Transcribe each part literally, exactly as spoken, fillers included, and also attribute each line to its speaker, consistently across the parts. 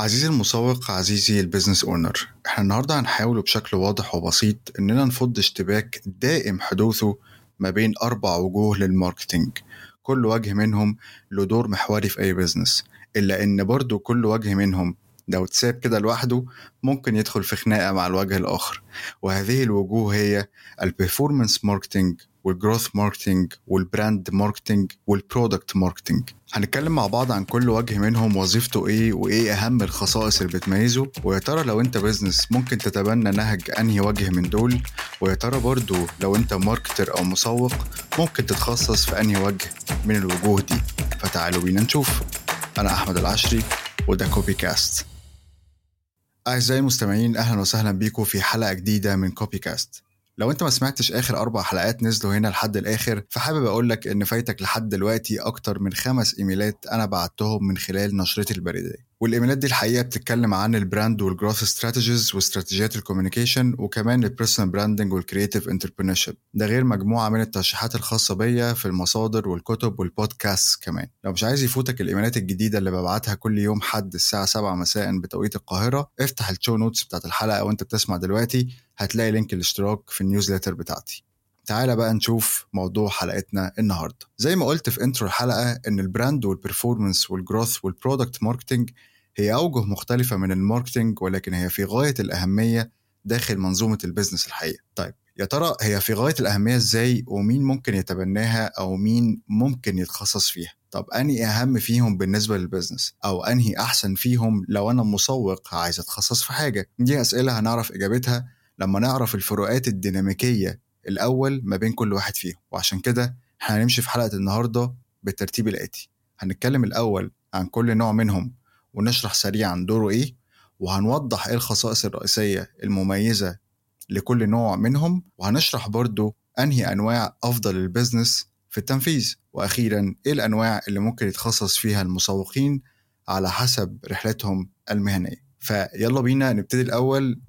Speaker 1: عزيزي المسوق، عزيزي البيزنس اونر، احنا النهارده هنحاول بشكل واضح وبسيط اننا نفض اشتباك دائم حدوثه ما بين اربع وجوه للماركتينج. كل وجه منهم له دور محوري في اي بيزنس، الا ان برضو كل وجه منهم لو اتساب كده لوحده ممكن يدخل في خناقة مع الوجه الآخر. وهذه الوجوه هي البرفورمانس ماركتينج والجروث ماركتينج والبراند ماركتينج والبرودكت ماركتينج. هنتكلم مع بعض عن كل وجه منهم وظيفته ايه وايه اهم الخصائص اللي بتميزه، ويا ترى لو انت بيزنس ممكن تتبنى نهج انهي وجه من دول، ويا ترى برضو لو انت ماركتر او مسوق ممكن تتخصص في انهي وجه من الوجوه دي. فتعالوا بينا نشوف. انا احمد العشري وده كوبي كاست. أعزائي المستمعين، أهلا وسهلا بيكم في حلقة جديدة من كوبي كاست. لو أنت ما سمعتش آخر أربع حلقات نزلوا هنا لحد الآخر، فحابب أقولك إن فايتك لحد دلوقتي أكتر من خمس إيميلات أنا بعتهم من خلال نشرتي البريدية. والإيميلات دي الحقيقة بتتكلم عن البراند والجروث استراتيجيز واستراتيجيات الكوميونيكيشن، وكمان البيرسونال براندنج والكرياتيف انتربرينورشيب. ده غير مجموعة من الترشيحات الخاصة بيا في المصادر والكتب والبودكاست كمان. لو مش عايز يفوتك الإيميلات الجديدة اللي ببعتها كل يوم حد الساعة سبعة مساء بتوقيت القاهرة، افتح الشو نوتس بتاعت الحلقة وانت بتسمع دلوقتي، هتلاقي لينك الاشتراك في النيوزليتر بتاعتي. تعالى بقى نشوف موضوع حلقتنا النهاردة. زي ما قلت في انترو الحلقة ان البراند والبرفورمانس والجروث والبرودكت ماركتينج هي أوجه مختلفة من الماركتينج، ولكن هي في غاية الأهمية داخل منظومة البيزنس الحقيقة. طيب يا ترى هي في غاية الأهمية إزاي، ومين ممكن يتبناها أو مين ممكن يتخصص فيها؟ طب أنهي أهم فيهم بالنسبة للبيزنس، أو أنهي أحسن فيهم لو أنا مسوق عايز أتخصص في حاجة؟ دي أسئلة هنعرف إجابتها لما نعرف الفروقات الديناميكية الأول ما بين كل واحد فيهم. وعشان كده هنمشي في حلقة النهاردة بالترتيب الآتي. هنتكلم الأول عن كل نوع منهم ونشرح سريعا دوره إيه، وهنوضح إيه الخصائص الرئيسية المميزة لكل نوع منهم، وهنشرح برضو أنهي أنواع أفضل البيزنس في التنفيذ، وأخيرا إيه الأنواع اللي ممكن يتخصص فيها المسوقين على حسب رحلتهم المهنية. فيلا بينا نبتدي الأول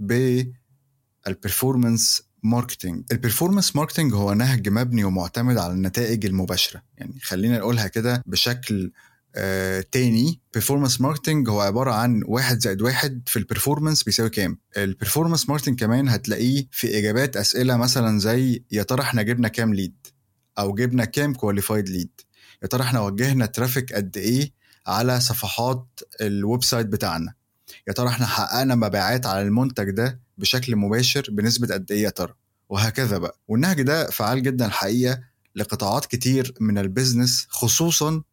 Speaker 1: بالبرفورمانس ماركتينج. البرفورمانس ماركتينج هو نهج مبني ومعتمد على النتائج المباشرة. يعني خلينا نقولها كده بشكل آه تاني، performance marketing هو عبارة عن واحد زائد واحد في البرفورمانس بيساوي كام. البرفورمانس ماركتينج كمان هتلاقيه في إجابات أسئلة مثلا زي يا ترى احنا جبنا كام ليد، أو جبنا كام كواليفايد ليد، يا ترى احنا وجهنا ترافيك قد إيه على صفحات الويب سايت بتاعنا، يا ترى احنا حققنا مبيعات على المنتج ده بشكل مباشر بنسبة قد إيه يا ترى، وهكذا بقى. والنهج ده فعال جدا الحقيقة لقطاعات كتير من البيزنس، خصوصا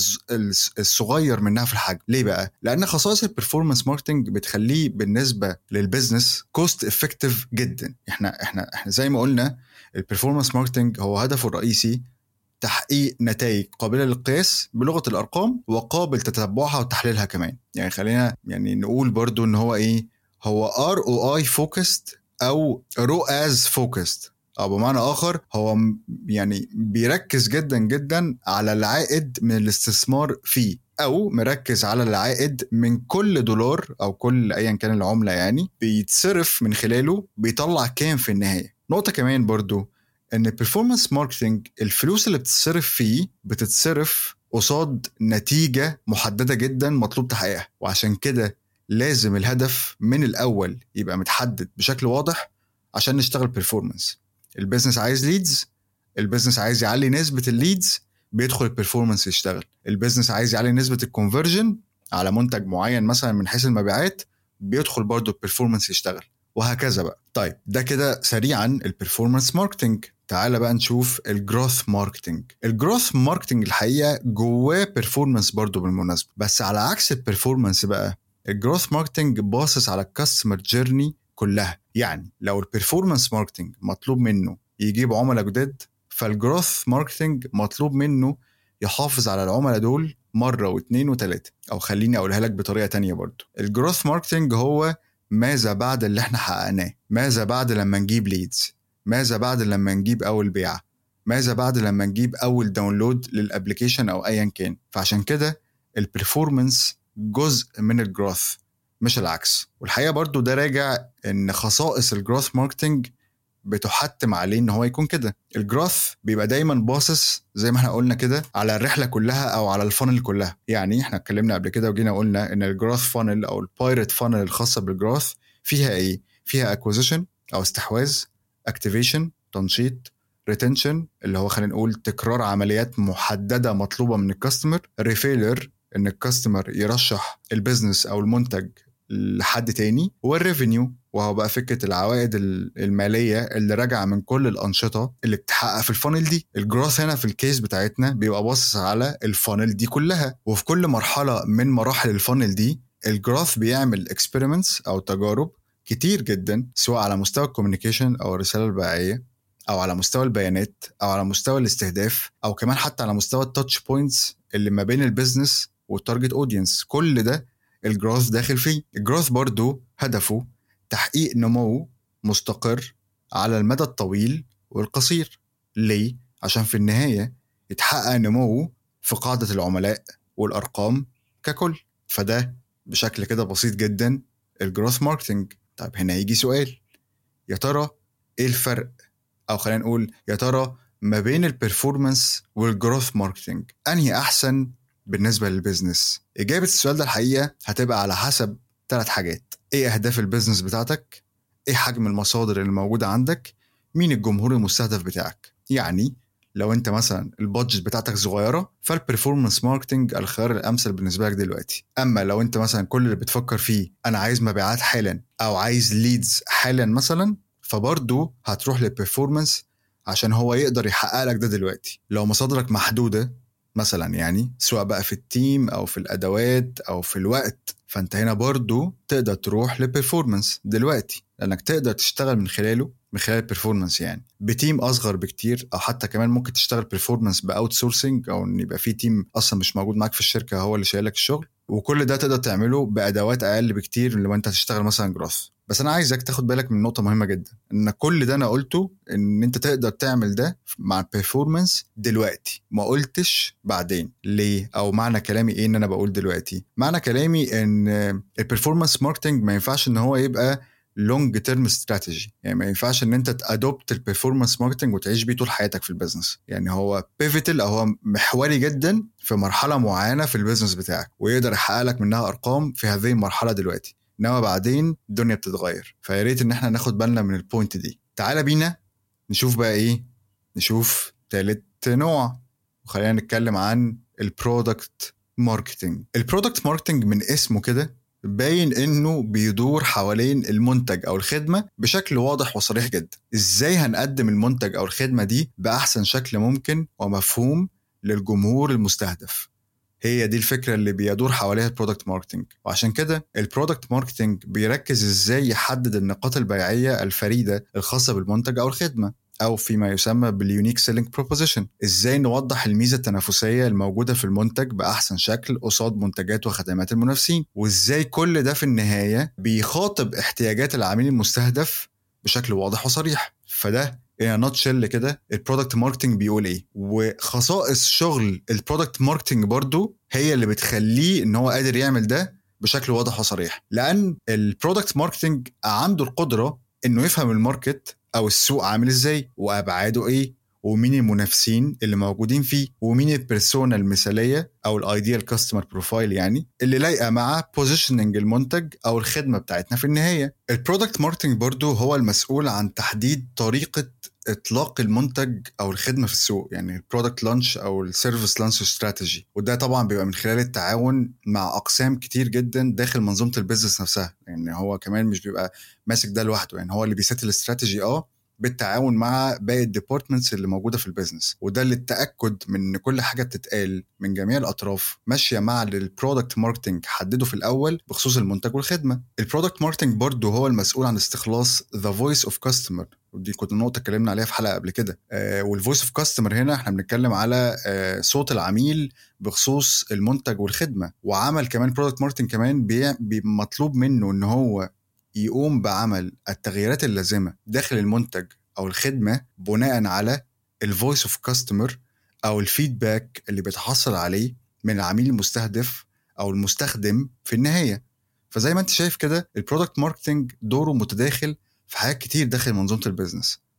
Speaker 1: الصغير منها في الحجم. ليه بقى؟ لأن خصائص البرفورمانس ماركتينج بتخليه بالنسبة للبيزنس كوست افكتيف جدا. احنا احنا احنا زي ما قلنا البرفورمانس ماركتينج هو هدفه الرئيسي تحقيق نتائج قابلة للقياس بلغة الأرقام وقابل تتبعها وتحليلها كمان. يعني خلينا يعني نقول برضو إن هو إيه، هو آر أو آي focused أو رو آز focused، أو بمعنى آخر هو يعني بيركز جدا جدا على العائد من الاستثمار فيه، أو مركز على العائد من كل دولار أو كل أيا كان العملة يعني بيتصرف من خلاله بيطلع كام في النهاية. نقطة كمان برضو ان البرفورمانس ماركتينج الفلوس اللي بتتصرف فيه بتتصرف قصاد نتيجة محددة جدا مطلوب تحقيقها، وعشان كده لازم الهدف من الأول يبقى متحدد بشكل واضح عشان نشتغل برفورمانس. البيزنس عايز ليدز، البيزنس عايز يعلي نسبة الليدز، بيدخل البرفورمانس يشتغل. البيزنس عايز يعلي نسبة الكونفرجن على منتج معين مثلا من حيث المبيعات، بيدخل برضو البرفورمانس يشتغل، وهكذا بقى. طيب ده كده سريعا البرفورمانس ماركتينج. تعال بقى نشوف الجروث ماركتينج. الجروث ماركتينج الحقيقة جواه بيرفورمانس برضو بالمناسبة، بس على عكس البيرفورمانس بقى الجروث ماركتينج باصص على الكاستمر جيرني كلها. يعني لو البيرفورمانس ماركتينج مطلوب منه يجيب عملاء جداد، فالجروث ماركتينج مطلوب منه يحافظ على العملاء دول مرة واثنين وثلاثة. أو خليني أقولها لك بطريقة تانية برضو، الجروث ماركتينج هو ماذا بعد اللي احنا حققناه، ماذا بعد لما نجيب ليدز، ماذا بعد لما نجيب أول بيعة، ماذا بعد لما نجيب أول داونلود للأبليكيشن أو أيا كان. فعشان كده البرفورمانس جزء من الجروث مش العكس. والحقيقة برضو ده راجع إن خصائص الجروث ماركتينج بتحتم عليه ان هو يكون كده. الجروث بيبقى دايما باصص زي ما احنا قلنا كده على الرحله كلها او على الفانل كلها. يعني احنا اتكلمنا قبل كده وجينا قلنا ان الجروث فانل او البايرت فانل الخاصه بالجروث فيها ايه؟ فيها اكوزيشن او استحواذ، اكتيفيشن تنشيط، ريتنشن اللي هو خلينا نقول تكرار عمليات محدده مطلوبه من الكاستمر، ريفيلر ان الكاستمر يرشح البيزنس او المنتج لحد تاني، والريفينيو وهو بقى فكرة العوائد المالية اللي راجعة من كل الأنشطة اللي بتحقق في الفانل دي. الجروث هنا في الكيس بتاعتنا بيبقى باصص على الفانل دي كلها، وفي كل مرحلة من مراحل الفانل دي الجروث بيعمل اكسبيرمنتس أو تجارب كتير جدا، سواء على مستوى الكوميونيكيشن أو الرسالة البيعية، أو على مستوى البيانات، أو على مستوى الاستهداف، أو كمان حتى على مستوى التاتش بوينتس اللي ما بين البيزنس والتارجت اودينس. كل ده الجروث داخل فيه. الجروث برضو هدفه تحقيق نمو مستقر على المدى الطويل والقصير. ليه؟ عشان في النهاية يتحقق نمو في قاعدة العملاء والأرقام ككل. فده بشكل كده بسيط جدا الجروث ماركتينج. طيب هنا يجي سؤال، يا ترى ايه الفرق، او خلينا نقول يا ترى ما بين البرفورمانس والجروث ماركتينج انهي احسن بالنسبة للبيزنس؟ إجابة السؤال ده الحقيقة هتبقى على حسب ثلاث حاجات. إيه أهداف البيزنس بتاعتك؟ إيه حجم المصادر اللي موجودة عندك؟ مين الجمهور المستهدف بتاعك؟ يعني لو أنت مثلا البادجت بتاعتك صغيرة فالبرفورمانس ماركتينج الخيار الأمثل بالنسبة لك دلوقتي. أما لو أنت مثلا كل اللي بتفكر فيه أنا عايز مبيعات حالا أو عايز ليدز حالا مثلا، فبرضو هتروح للبرفورمانس عشان هو يقدر يحقق لك ده دلوقتي. لو مصادرك محدودة مثلا، يعني سواء بقى في التيم او في الادوات او في الوقت، فانت هنا برضو تقدر تروح للبرفورمانس دلوقتي، لانك تقدر تشتغل من خلاله من خلال البرفورمانس يعني بتيم اصغر بكتير، او حتى كمان ممكن تشتغل برفورمانس باوت سورسنج، او ان يبقى في تيم اصلا مش موجود معاك في الشركه هو اللي شايلك الشغل. وكل ده تقدر تعمله بادوات اقل بكتير لما انت هتشتغل مثلا جروث. بس انا عايزك تاخد بالك من نقطه مهمه جدا، ان كل ده انا قلته ان انت تقدر تعمل ده مع البرفورمانس دلوقتي، ما قلتش بعدين. ليه؟ او معنى كلامي ايه ان انا بقول دلوقتي؟ معنى كلامي ان البرفورمانس ماركتنج ما ينفعش ان هو يبقى لونج تيرم استراتيجي. يعني ما ينفعش ان انت تادوبت البرفورمانس ماركتنج وتعيش بيه طول حياتك في البيزنس. يعني هو بيفيتال او هو محوري جدا في مرحله معينه في البيزنس بتاعك، ويقدر يحقق لك منها ارقام في هذه المرحله دلوقتي، انما بعدين الدنيا بتتغير. فيا ريت ان احنا ناخد بالنا من البوينت دي. تعال بينا نشوف بقى ايه، نشوف ثالث نوع، وخلينا نتكلم عن البرودكت ماركتنج. البرودكت ماركتنج من اسمه كده باين انه بيدور حوالين المنتج او الخدمة بشكل واضح وصريح جدا. ازاي هنقدم المنتج او الخدمة دي بأحسن شكل ممكن ومفهوم للجمهور المستهدف؟ هي دي الفكرة اللي بيدور حواليها البرودكت ماركتنج. وعشان كده البرودكت ماركتنج بيركز ازاي يحدد النقاط البيعية الفريدة الخاصة بالمنتج او الخدمة، او فيما يسمى باليونيك سيلينج بروبوزيشن. ازاي نوضح الميزة التنافسية الموجودة في المنتج بأحسن شكل قصاد منتجات وخدمات المنافسين، وازاي كل ده في النهاية بيخاطب احتياجات العميل المستهدف بشكل واضح وصريح. فده إيه نوتشل كده البرودكت ماركتنج بيقول ايه. وخصائص شغل البرودكت ماركتنج برضو هي اللي بتخليه ان هو قادر يعمل ده بشكل واضح وصريح، لان البرودكت ماركتنج عنده القدرة انه يفهم الماركت او السوق عامل ازاي وابعاده ايه، ومين المنافسين اللي موجودين فيه، ومين البيرسونا المثالية او الايديال كاستمر بروفايل يعني اللي لايقة مع بوزيشننج المنتج او الخدمة بتاعتنا في النهاية. البرودكت ماركتنج برضو هو المسؤول عن تحديد طريقة اطلاق المنتج او الخدمه في السوق، يعني البرودكت لانش او السيرفيس لانش استراتيجي. وده طبعا بيبقى من خلال التعاون مع اقسام كتير جدا داخل منظومه البيزنس نفسها. يعني هو كمان مش بيبقى ماسك ده لوحده، يعني هو اللي بيسيت الاستراتيجي اه بالتعاون مع باقي الديبارتمنتس اللي موجوده في البيزنس. وده للتاكد من ان كل حاجه بتتقال من جميع الاطراف ماشيه مع البرودكت ماركتنج حدده في الاول بخصوص المنتج والخدمه. البرودكت ماركتنج برضه هو المسؤول عن استخلاص ذا فويس اوف كاستمر، ودي كنت النقطه اتكلمنا عليها في حلقه قبل كده. آه والفويس اوف كاستمر هنا احنا بنتكلم على آه صوت العميل بخصوص المنتج والخدمه. وعمل كمان برودكت ماركتنج كمان بي مطلوب منه ان هو يقوم بعمل التغييرات اللازمه داخل المنتج او الخدمه بناء على الفويس اوف كاستمر او الفيدباك اللي بيتحصل عليه من العميل المستهدف او المستخدم في النهايه. فزي ما انت شايف كده البرودكت ماركتنج دوره متداخل في حاجات كتير داخل منظومه البيزنس،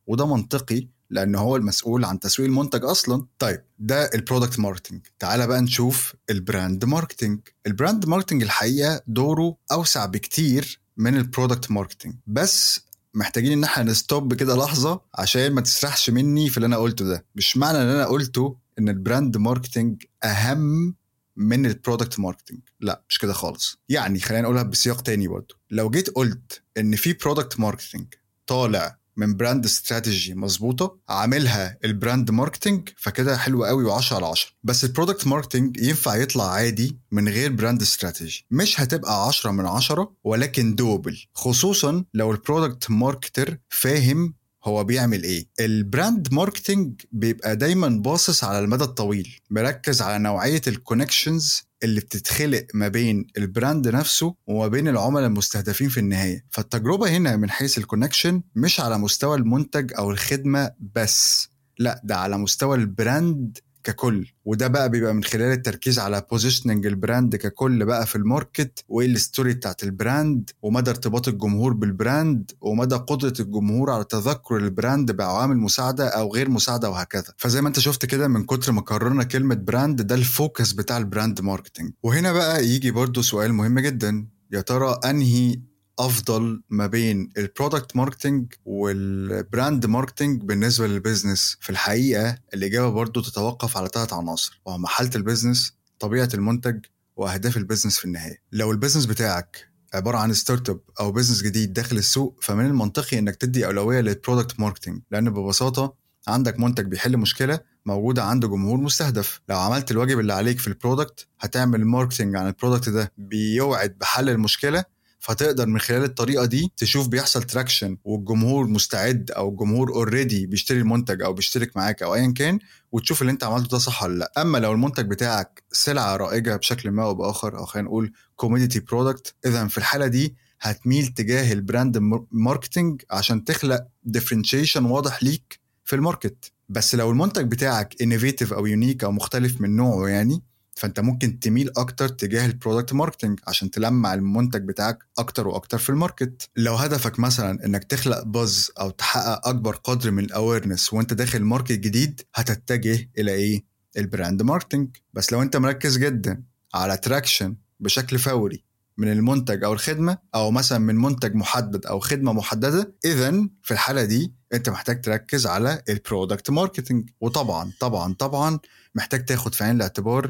Speaker 1: وده منطقي لأن هو المسؤول عن تسويق المنتج أصلا. طيب ده البرودكت ماركتينج. تعال بقى نشوف البراند ماركتينج. البراند ماركتينج الحقيقة دوره أوسع بكتير من البرودكت ماركتينج، بس محتاجين ان احنا نستوب كده لحظة عشان ما تسرحش مني في اللي انا قلته ده. مش معنى ان انا قلته ان البراند ماركتينج اهم من البرودكت ماركتينج، لا مش كده خالص. يعني خلينا نقولها بسياق تاني برضو. لو جيت قلت ان في برودكت ماركتينج طالع من براند استراتيجي مظبوطه عاملها البراند ماركتينج، فكده حلو قوي وعشرة على عشرة. بس البرودكت ماركتينج ينفع يطلع عادي من غير براند استراتيجي، مش هتبقى عشرة من عشرة ولكن دوبل، خصوصا لو البرودكت ماركتر فاهم هو بيعمل ايه. البراند ماركتينج بيبقى دايما باصص على المدى الطويل، مركز على نوعية الكونكشنز اللي بتتخلق ما بين البراند نفسه وما بين العملاء المستهدفين في النهاية. فالتجربة هنا من حيث الكونكشن مش على مستوى المنتج أو الخدمة بس، لا ده على مستوى البراند ككل. وده بقى بيبقى من خلال التركيز على بوزيشننج البراند ككل بقى في الماركت، وايه الستوري بتاعت البراند، ومدى ارتباط الجمهور بالبراند، ومدى قدرة الجمهور على تذكر البراند بعوامل مساعدة او غير مساعدة وهكذا. فزي ما انت شفت كده من كتر ما كررنا كلمة براند، ده الفوكس بتاع البراند ماركتينج. وهنا بقى يجي برضو سؤال مهم جدا، يا ترى انهي افضل ما بين البرودكت ماركتينج والبراند ماركتينج بالنسبه للبيزنس؟ في الحقيقه الاجابه برضو تتوقف على ثلاث عناصر، وهما حاله البيزنس، طبيعه المنتج، واهداف البيزنس في النهايه. لو البيزنس بتاعك عباره عن ستارت اب او بيزنس جديد داخل السوق، فمن المنطقي انك تدي اولويه للبرودكت ماركتينج، لان ببساطه عندك منتج بيحل مشكله موجوده عند جمهور مستهدف. لو عملت الواجب اللي عليك في البرودكت، هتعمل ماركتينج عن البرودكت ده بيوعد بحل المشكله، فتقدر من خلال الطريقة دي تشوف بيحصل تراكشن والجمهور مستعد او الجمهور اوريدي بيشتري المنتج او بيشترك معاك او ايا كان، وتشوف اللي انت عملته ده صح ولا لا. اما لو المنتج بتاعك سلعة رائجة بشكل ما او باخر، او خلينا نقول كوموديتي برودكت، اذا في الحالة دي هتميل تجاه البراند ماركتينج عشان تخلق ديفرنشيشن واضح ليك في الماركت. بس لو المنتج بتاعك انوفيتيف او يونيك او مختلف من نوعه يعني، فانت ممكن تميل اكتر تجاه البرودكت ماركتينج عشان تلمع المنتج بتاعك اكتر واكتر في الماركت. لو هدفك مثلا انك تخلق باز او تحقق اكبر قدر من الاويرنس وانت داخل ماركت جديد، هتتجه الى ايه؟ البراند ماركتينج. بس لو انت مركز جدا على تراكشن بشكل فوري من المنتج او الخدمه، او مثلا من منتج محدد او خدمه محدده، اذا في الحاله دي انت محتاج تركز على البرودكت ماركتينج. وطبعا طبعا طبعا محتاج تاخد في عين الاعتبار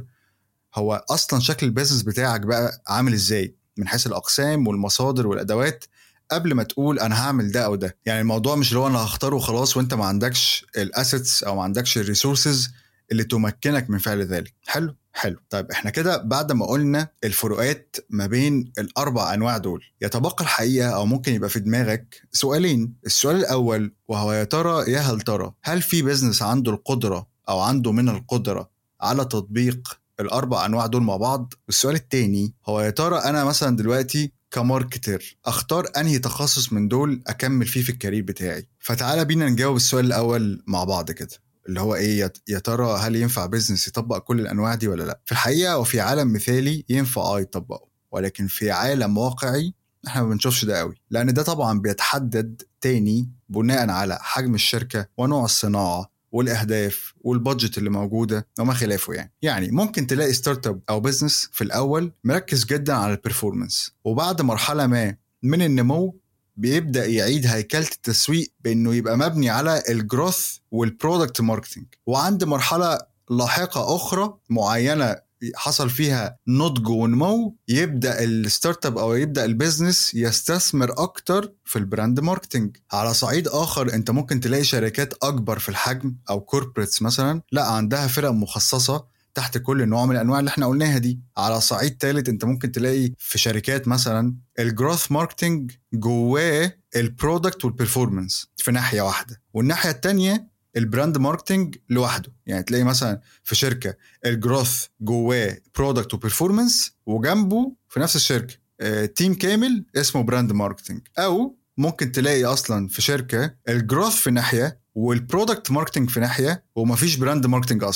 Speaker 1: هو اصلا شكل البيزنس بتاعك بقى عامل ازاي من حيث الاقسام والمصادر والادوات، قبل ما تقول انا هعمل ده او ده. يعني الموضوع مش اللي هو انا هختاره وخلاص وانت ما عندكش الاسيتس او ما عندكش الريسورسز اللي تمكنك من فعل ذلك. حلو حلو. طيب احنا كده بعد ما قلنا الفروقات ما بين الاربع انواع دول، يتبقى الحقيقه او ممكن يبقى في دماغك سؤالين. السؤال الاول وهو يا ترى يا هل ترى هل في بيزنس عنده القدره او عنده من القدره على تطبيق الاربع انواع دول مع بعض؟ السؤال التاني هو يا ترى انا مثلا دلوقتي كماركتر اختار انهي تخصص من دول اكمل فيه في الكارير بتاعي؟ فتعالى بينا نجاوب السؤال الاول مع بعض كده، اللي هو ايه، يا ترى هل ينفع بيزنس يطبق كل الانواع دي ولا لا؟ في الحقيقه وفي عالم مثالي ينفع اه يطبقه، ولكن في عالم واقعي احنا ما بنشوفش ده قوي، لان ده طبعا بيتحدد تاني بناء على حجم الشركه ونوع الصناعه والاهداف والبادجت اللي موجوده وما خلافه. يعني يعني ممكن تلاقي ستارت اب او بزنس في الاول مركز جدا على البرفورمانس، وبعد مرحله ما من النمو بيبدا يعيد هيكله التسويق بانه يبقى مبني على الجروث والبرودكت ماركتنج، وعند مرحله لاحقه اخرى معينه حصل فيها نضج ونمو، يبدأ الستارت اب او يبدأ البيزنس يستثمر اكتر في البراند ماركتنج. على صعيد اخر انت ممكن تلاقي شركات اكبر في الحجم او كوربريتس مثلا لا عندها فرق مخصصة تحت كل نوع من الانواع اللي احنا قلناها دي. على صعيد ثالث انت ممكن تلاقي في شركات مثلا الجروث ماركتنج جواه البرودكت والبرفورمانس في ناحية واحدة، والناحية التانية البراند ماركتنج لوحده. يعني تلاقي مثلا في شركة الجروث جواه برودكت وبرفورمانس، وجنبه في نفس الشركة اه تيم كامل اسمه براند ماركتنج. او ممكن تلاقي اصلا في شركة الجروث في ناحية والبرودكت ماركتنج في ناحية ومفيش براند ماركتنج اصلا.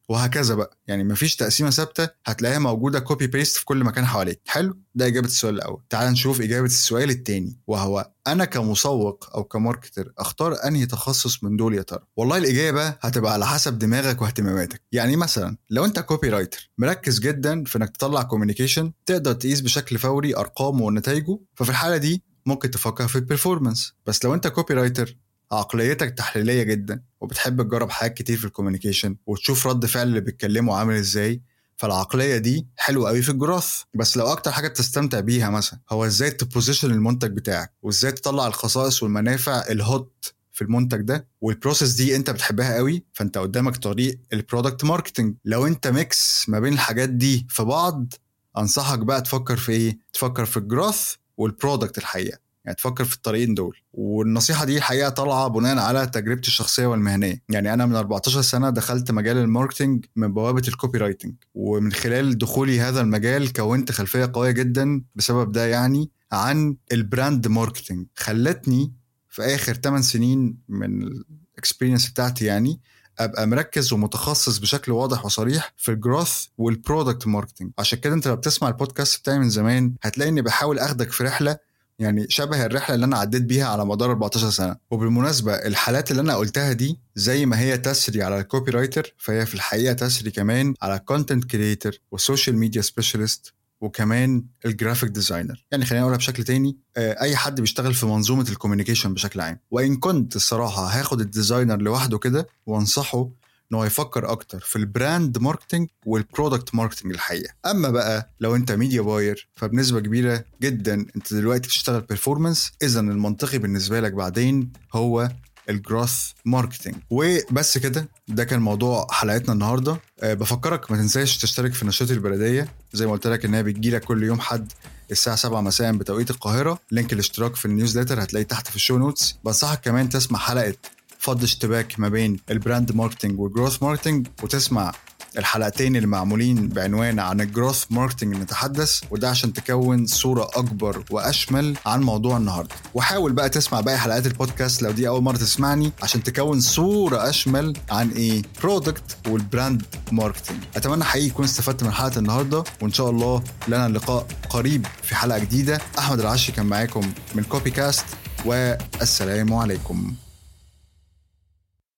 Speaker 1: وهكذا بقى. يعني مفيش تقسيمه ثابته هتلاقيها موجوده كوبي بيست في كل مكان حواليك. حلو، ده اجابه السؤال الاول. تعال نشوف اجابه السؤال الثاني، وهو انا كمسوق او كماركتر اختار انهي تخصص من دول يا ترى؟ والله الاجابه هتبقى على حسب دماغك واهتماماتك. يعني مثلا لو انت كوبي رايتر مركز جدا في انك تطلع كوميونيكيشن تقدر تقيس بشكل فوري ارقامه ونتائجه، ففي الحاله دي ممكن تفكر في البرفورمانس. بس لو انت كوبي رايتر عقليتك تحليليه جدا وبتحب تجرب حاجات كتير في الكوميونيكيشن وتشوف رد فعل اللي بيتكلموا عامل ازاي، فالعقليه دي حلوه قوي في الجراث. بس لو اكتر حاجه بتستمتع بيها مثلا هو ازاي تبوزيشن المنتج بتاعك وازاي تطلع الخصائص والمنافع الهوت في المنتج ده، والبروسيس دي انت بتحبها قوي، فانت قدامك طريق البرودكت ماركتنج. لو انت ميكس ما بين الحاجات دي في بعض، انصحك بقى تفكر في ايه؟ تفكر في الجراث والبرودكت الحقيقه، يعني تفكر في الطريقين دول. والنصيحة دي الحقيقة طالعة بناء على تجربتي الشخصية والمهنية. يعني أنا من أربعتاشر سنة دخلت مجال الماركتينج من بوابة الكوبي رايتنج، ومن خلال دخولي هذا المجال كونت خلفية قوية جدا بسبب ده يعني عن البراند ماركتينج. خلتني في آخر ثماني سنين من الاكسبيرينس بتاعتي يعني ابقى مركز ومتخصص بشكل واضح وصريح في الجروث والبرودكت ماركتينج. عشان كده انت لو بتسمع البودكاست بتاعي من زمان هتلاقي اني بحاول اخدك في رحله يعني شبه الرحله اللي انا عديت بيها على مدار أربعتاشر سنه. وبالمناسبه الحالات اللي انا قلتها دي زي ما هي تسري على الكوبي رايتر، فهي في الحقيقه تسري كمان على الكونتنت كريتور والسوشيال ميديا سبيشالست وكمان الجرافيك ديزاينر. يعني خلينا نقولها بشكل تاني، اي حد بيشتغل في منظومه الكوميونيكيشن بشكل عام. وان كنت الصراحه هاخد الديزاينر لوحده كده وانصحه انه يفكر اكتر في البراند ماركتنج والبرودكت ماركتنج الحقيقه. اما بقى لو انت ميديا باير فبنسبه كبيره جدا انت دلوقتي بتشتغل بيرفورمانس، اذا المنطقي بالنسبه لك بعدين هو الجروث ماركتنج. وبس كده، ده كان موضوع حلقتنا النهارده. أه بفكرك ما تنساش تشترك في نشاط البلديه زي ما قلت لك انها بتجيلك كل يوم حد الساعه سبعة مساء بتوقيت القاهره. لينك الاشتراك في النيوزليتر هتلاقيه تحت في الشو نوتس. بنصحك كمان تسمع حلقه فض اشتباك ما بين البراند ماركتنج والجروث ماركتنج، وتسمع الحلقتين اللي معمولين بعنوان عن الجروث ماركتنج نتحدث، وده عشان تكون صورة أكبر وأشمل عن موضوع النهاردة. وحاول بقى تسمع باقي حلقات البودكاست لو دي أول مرة تسمعني عشان تكون صورة أشمل عن إيه برودكت والبراند ماركتنج. أتمنى حقيقي يكون استفدت من حلقة النهاردة، وإن شاء الله لنا اللقاء قريب في حلقة جديدة. أحمد العشي كان معاكم من كوبي كاست، والسلام عليكم.